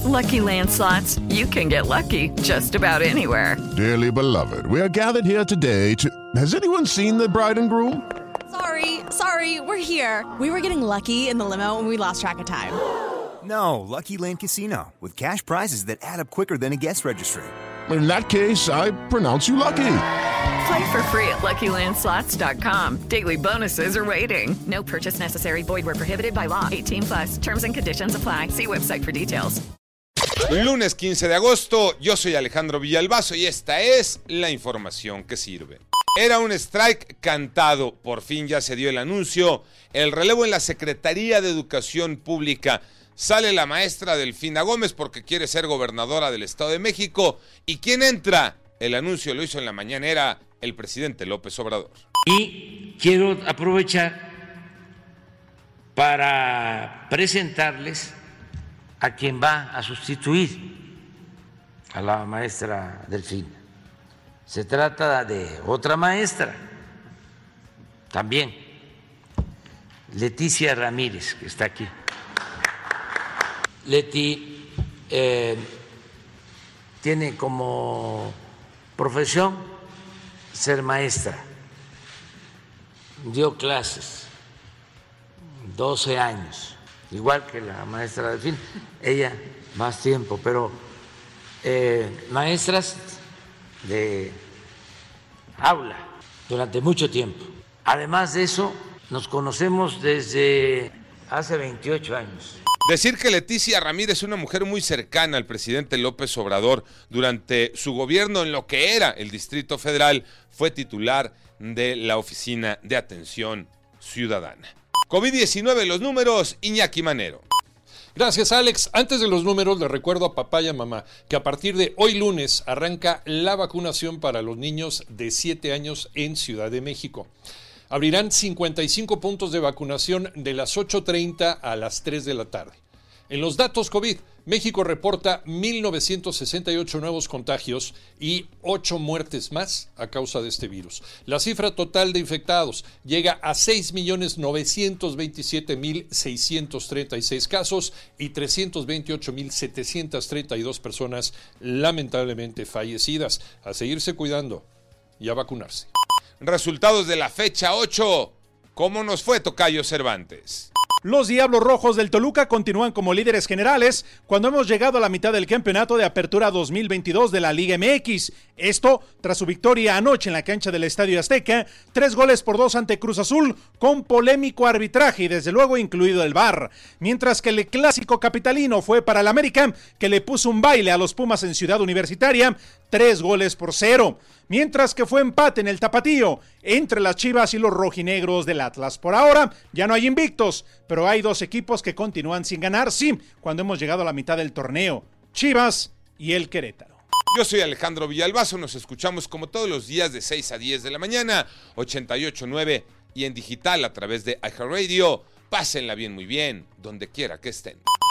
Lucky Land Slots, you can get lucky just about anywhere. Dearly beloved, we are gathered here today to... Has anyone seen the bride and groom? Sorry, we're here. We were getting lucky in the limo and we lost track of time. No, Lucky Land Casino, with cash prizes that add up quicker than a guest registry. In that case, I pronounce you lucky. Play for free at LuckyLandSlots.com. Daily bonuses are waiting. No purchase necessary. Void where prohibited by law. 18+. Terms and conditions apply. See website for details. Lunes 15 de agosto, yo soy Alejandro Villalbazo y esta es la información que sirve. Era un strike cantado, por fin ya se dio el anuncio, el relevo en la Secretaría de Educación Pública. Sale la maestra Delfina Gómez porque quiere ser gobernadora del Estado de México. ¿Y quién entra? El anuncio lo hizo en la mañanera el presidente López Obrador. Y quiero aprovechar para presentarles a quien va a sustituir a la maestra Delfina. Se trata de otra maestra, también, Leticia Ramírez, que está aquí. Leti tiene como profesión ser maestra. Dio clases 12 años, igual que la maestra Delfín, ella más tiempo, pero maestras de aula durante mucho tiempo. Además de eso, nos conocemos desde hace 28 años. Decir que Leticia Ramírez es una mujer muy cercana al presidente López Obrador. Durante su gobierno en lo que era el Distrito Federal, fue titular de la Oficina de Atención Ciudadana. COVID-19, los números, Iñaki Manero. Gracias, Alex. Antes de los números, le recuerdo a papá y a mamá que a partir de hoy lunes arranca la vacunación para los niños de 7 años en Ciudad de México. Abrirán 55 puntos de vacunación de las 8:30 a las 3 de la tarde. En los datos COVID, México reporta 1,968 nuevos contagios y 8 muertes más a causa de este virus. La cifra total de infectados llega a 6,927,636 casos y 328,732 personas lamentablemente fallecidas. A seguirse cuidando y a vacunarse. Resultados de la fecha 8. ¿Cómo nos fue, Tocayo Cervantes? Los Diablos Rojos del Toluca continúan como líderes generales cuando hemos llegado a la mitad del campeonato de apertura 2022 de la Liga MX. Esto tras su victoria anoche en la cancha del Estadio Azteca, 3-2 ante Cruz Azul, con polémico arbitraje y desde luego incluido el VAR. Mientras que el clásico capitalino fue para el América, que le puso un baile a los Pumas en Ciudad Universitaria, 3-0. Mientras que fue empate en el Tapatío entre las Chivas y los rojinegros del Atlas. Por ahora ya no hay invictos, pero hay dos equipos que continúan sin ganar, sí, cuando hemos llegado a la mitad del torneo: Chivas y el Querétaro. Yo soy Alejandro Villalbazo, nos escuchamos como todos los días de 6 a 10 de la mañana, 88.9 y en digital a través de iHeartRadio. Pásenla bien, muy bien, donde quiera que estén.